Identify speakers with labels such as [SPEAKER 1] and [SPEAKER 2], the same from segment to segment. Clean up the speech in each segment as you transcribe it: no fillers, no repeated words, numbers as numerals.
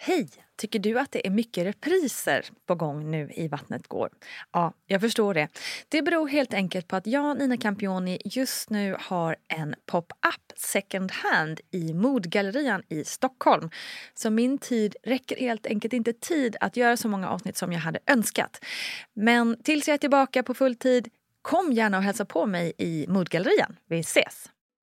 [SPEAKER 1] Hej! Tycker du att det är mycket repriser på gång nu i Vattnet går? Ja, jag förstår det. Det beror helt enkelt på att jag, Nina Campioni, just nu har en pop-up second hand i Modgallerian i Stockholm. Så min tid räcker helt enkelt inte tid att göra så många avsnitt som jag hade önskat. Men tills jag är tillbaka på full tid, kom gärna och hälsa på mig i Modgallerian. Vi ses!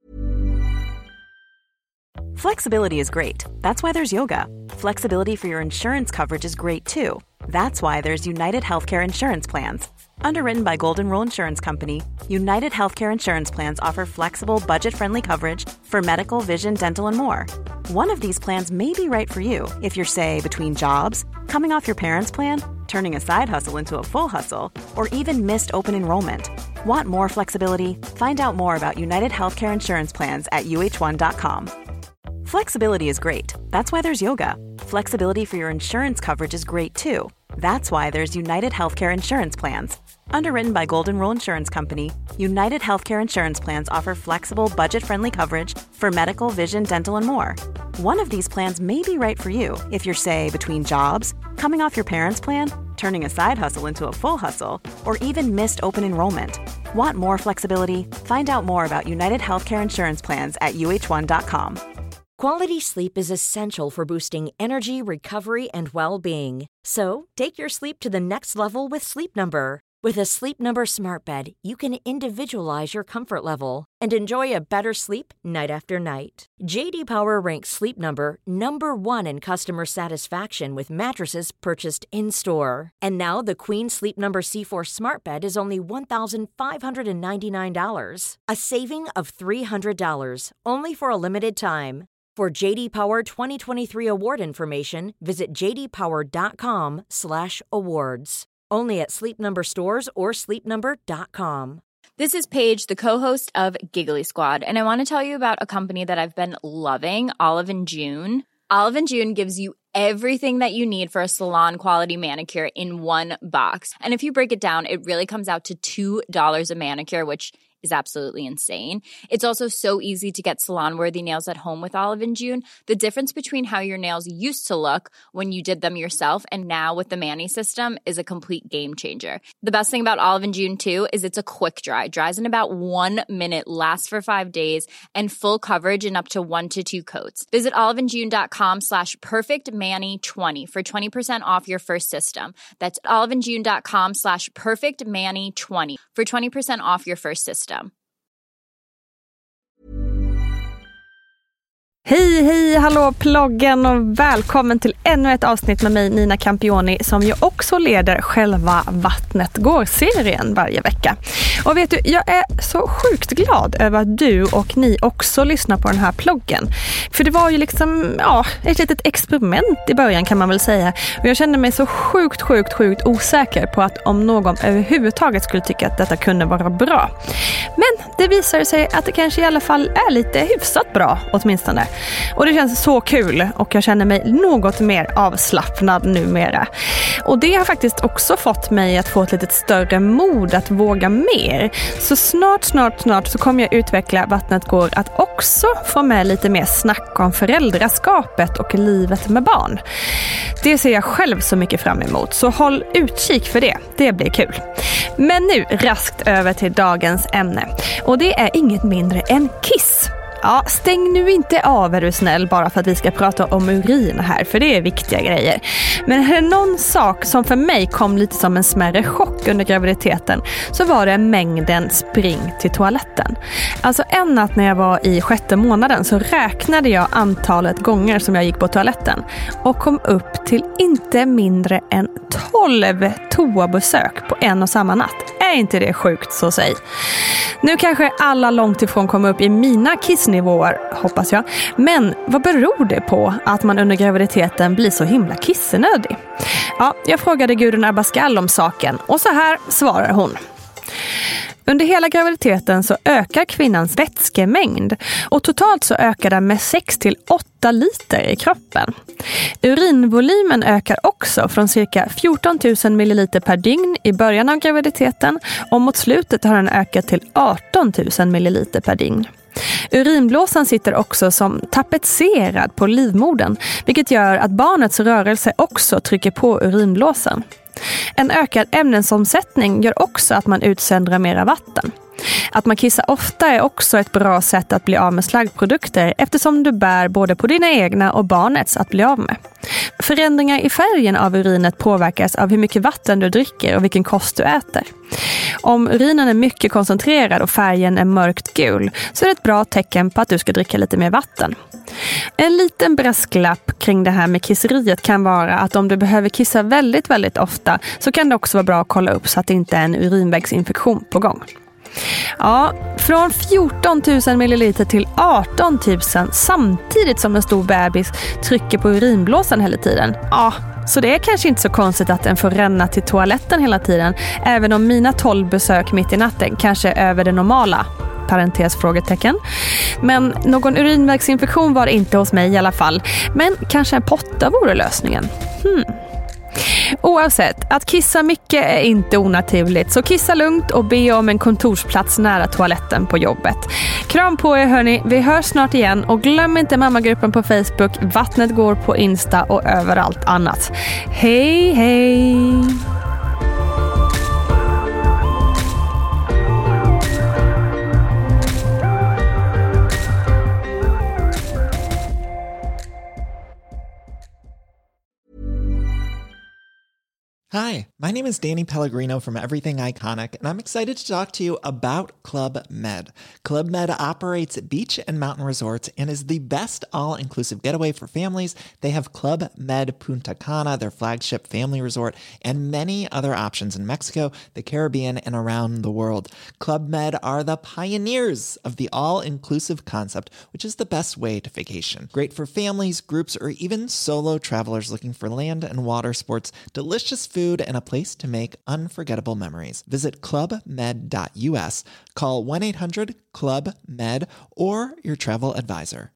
[SPEAKER 2] Flexibility is great. That's why there's yoga. Flexibility for your insurance coverage is great too. That's why there's United Healthcare Insurance Plans. Underwritten by Golden Rule Insurance Company, United Healthcare Insurance Plans offer flexible, budget-friendly coverage for medical, vision, dental, and more. One of these plans may be right for you if you're, say, between jobs, coming off your parents' plan, turning a side hustle into a full hustle, or even missed open enrollment. Want more flexibility? Find out more about United Healthcare Insurance Plans at uh1.com. Flexibility is great. That's why there's yoga. Flexibility for your insurance coverage is great too. That's why there's United Healthcare Insurance Plans. Underwritten by Golden Rule Insurance Company, United Healthcare Insurance Plans offer flexible, budget-friendly coverage for medical, vision, dental, and more. One of these plans may be right for you if you're, say, between jobs, coming off your parents' plan, turning a side hustle into a full hustle, or even missed open enrollment. Want more flexibility? Find out more about United Healthcare Insurance Plans at uh1.com.
[SPEAKER 3] Quality sleep is essential for boosting energy, recovery, and well-being. So, take your sleep to the next level with Sleep Number. With a Sleep Number smart bed, you can individualize your comfort level and enjoy a better sleep night after night. JD Power ranks Sleep Number #1 in customer satisfaction with mattresses purchased in-store. And now the Queen Sleep Number C4 smart bed is only $1,599. A saving of $300, only for a limited time. For JD Power 2023 award information, visit jdpower.com/awards. Only at Sleep Number stores or sleepnumber.com.
[SPEAKER 4] This is Paige, the co-host of Giggly Squad, and I want to tell you about a company that I've been loving, Olive & June. Olive & June gives you everything that you need for a salon-quality manicure in one box. And if you break it down, it really comes out to $2 a manicure, which is absolutely insane. It's also so easy to get salon-worthy nails at home with Olive & June. The difference between how your nails used to look when you did them yourself and now with the Mani system is a complete game changer. The best thing about Olive & June too is it's a quick dry. Dries in about 1 minute, lasts for 5 days, and full coverage in up to 1 to 2 coats. Visit oliveandjune.com/perfectmani20 for 20% off your first system. That's oliveandjune.com/perfectmani20 for 20% off your first system.
[SPEAKER 1] Hej, hallå ploggen och välkommen till ännu ett avsnitt med mig, Nina Campioni, som ju också leder själva Vattnet går-serien varje vecka. Och vet du, jag är så sjukt glad över att du och ni också lyssnar på den här ploggen. För det var ju liksom, ett litet experiment i början kan man väl säga. Och jag kände mig så sjukt osäker på att om någon överhuvudtaget skulle tycka att detta kunde vara bra. Men det visade sig att det kanske i alla fall är lite hyfsat bra åtminstone. Och det känns så kul och jag känner mig något mer avslappnad numera. Och det har faktiskt också fått mig att få ett lite större mod att våga mer. Så snart så kommer jag utveckla Vattnet går att också få med lite mer snack om föräldraskapet och livet med barn. Det ser jag själv så mycket fram emot, så håll utkik för det. Det blir kul. Men nu raskt över till dagens ämne. Och det är inget mindre än kiss. Ja, stäng nu inte av, är du snäll, bara för att vi ska prata om urin här, för det är viktiga grejer. Men är det någon sak som för mig kom lite som en smärre chock under graviditeten, så var det mängden spring till toaletten. Alltså en natt när jag var i 6:e månaden så räknade jag antalet gånger som jag gick på toaletten och kom upp till inte mindre än 12 toabesök på en och samma natt. Är inte det sjukt, så säg. Nu kanske alla långt ifrån kommer upp i mina kissnivåer, hoppas jag. Men vad beror det på att man under graviditeten blir så himla kissenödig? Ja, jag frågade Gudrun Abascal om saken och så här svarar hon. Under hela graviditeten så ökar kvinnans vätskemängd och totalt så ökar den med 6-8 liter i kroppen. Urinvolymen ökar också från cirka 14 000 milliliter per dygn i början av graviditeten och mot slutet har den ökat till 18 000 milliliter per dygn. Urinblåsan sitter också som tapetserad på livmodern, vilket gör att barnets rörelse också trycker på urinblåsan. En ökad ämnesomsättning gör också att man utsöndrar mera vatten. Att man kissar ofta är också ett bra sätt att bli av med slaggprodukter eftersom du bär både på dina egna och barnets att bli av med. Förändringar i färgen av urinet påverkas av hur mycket vatten du dricker och vilken kost du äter. Om urinen är mycket koncentrerad och färgen är mörkt gul så är det ett bra tecken på att du ska dricka lite mer vatten. En liten brasklapp kring det här med kisseriet kan vara att om du behöver kissa väldigt, väldigt ofta så kan det också vara bra att kolla upp så att det inte är en urinvägsinfektion på gång. Ja, från 14 000 milliliter till 18 000 samtidigt som en stor bebis trycker på urinblåsan hela tiden. Ja, så det är kanske inte så konstigt att den får ränna till toaletten hela tiden, även om mina 12 besök mitt i natten kanske är över det normala. Parentesfrågetecken. Men någon urinvägsinfektion var det inte hos mig i alla fall. Men kanske en potta vore lösningen. Oavsett, att kissa mycket är inte onaturligt, så kissa lugnt och be om en kontorsplats nära toaletten på jobbet. Kram på er hörni, vi hörs snart igen och glöm inte mammagruppen på Facebook, Vattnet går på Insta och överallt annat. Hej hej!
[SPEAKER 5] Hi, my name is Danny Pellegrino from Everything Iconic, and I'm excited to talk to you about Club Med. Club Med operates beach and mountain resorts and is the best all-inclusive getaway for families. They have Club Med Punta Cana, their flagship family resort, and many other options in Mexico, the Caribbean, and around the world. Club Med are the pioneers of the all-inclusive concept, which is the best way to vacation. Great for families, groups, or even solo travelers looking for land and water sports, delicious food, and a place to make unforgettable memories. Visit clubmed.us, call 1-800-CLUB-MED, or your travel advisor.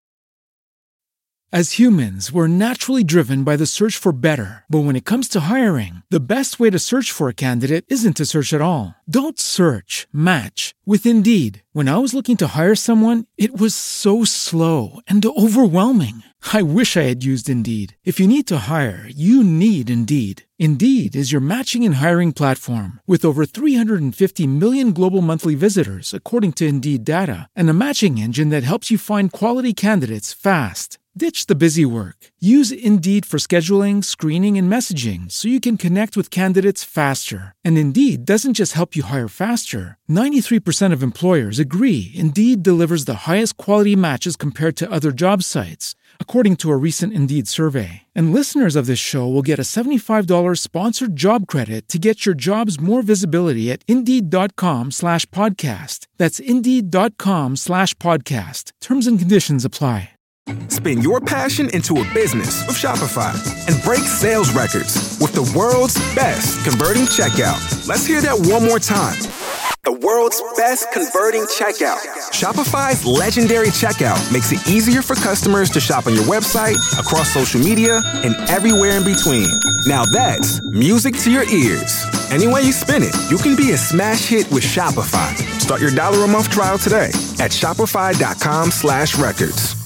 [SPEAKER 6] As humans, we're naturally driven by the search for better. But when it comes to hiring, the best way to search for a candidate isn't to search at all. Don't search, match with Indeed. When I was looking to hire someone, it was so slow and overwhelming. I wish I had used Indeed. If you need to hire, you need Indeed. Indeed is your matching and hiring platform with over 350 million global monthly visitors, according to Indeed data, and a matching engine that helps you find quality candidates fast. Ditch the busy work. Use Indeed for scheduling, screening, and messaging so you can connect with candidates faster. And Indeed doesn't just help you hire faster. 93% of employers agree Indeed delivers the highest quality matches compared to other job sites, according to a recent Indeed survey. And listeners of this show will get a $75 sponsored job credit to get your jobs more visibility at Indeed.com/podcast. That's Indeed.com/podcast. Terms and conditions apply.
[SPEAKER 7] Spin your passion into a business with Shopify and break sales records with the world's best converting checkout. Let's hear that one more time. The world's best converting checkout. Shopify's legendary checkout makes it easier for customers to shop on your website, across social media, and everywhere in between. Now that's music to your ears. Any way you spin it, you can be a smash hit with Shopify. Start your $1 a month trial today at shopify.com/records.